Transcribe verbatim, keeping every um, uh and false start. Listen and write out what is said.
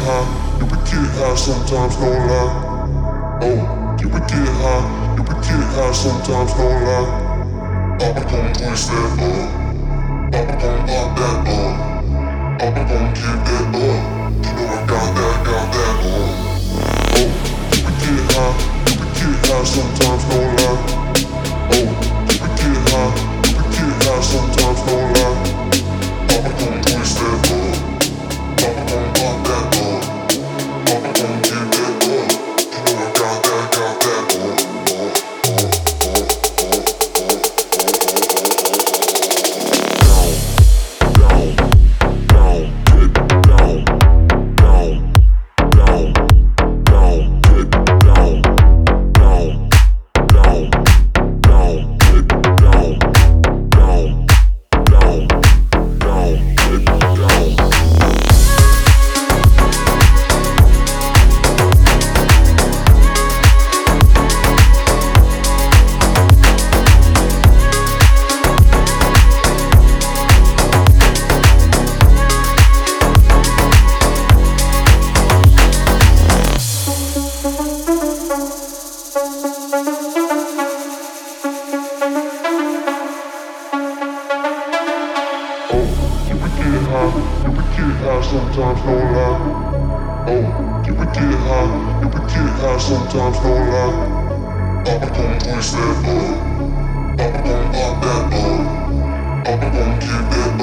high, you can get high sometimes, no lie. Oh, you can get high, you can get high sometimes, no lie. Papa gon' twist that up, Papa gon' pop that up, Papa gon' give that up. You know I got that, got that up. Oh, you can get high, you can get high sometimes, no lie. Oh, you can get high, you can get high sometimes, no lie. Papa gon' twist that up, Papa gon' pop that up, Papa gon' give that up. You know I got that, got that up. Sometimes no lie. Oh, you can get high, you can get high sometimes, no lie. Papa gon' twist that up, Papa gon' pop that up, Papa gon' give that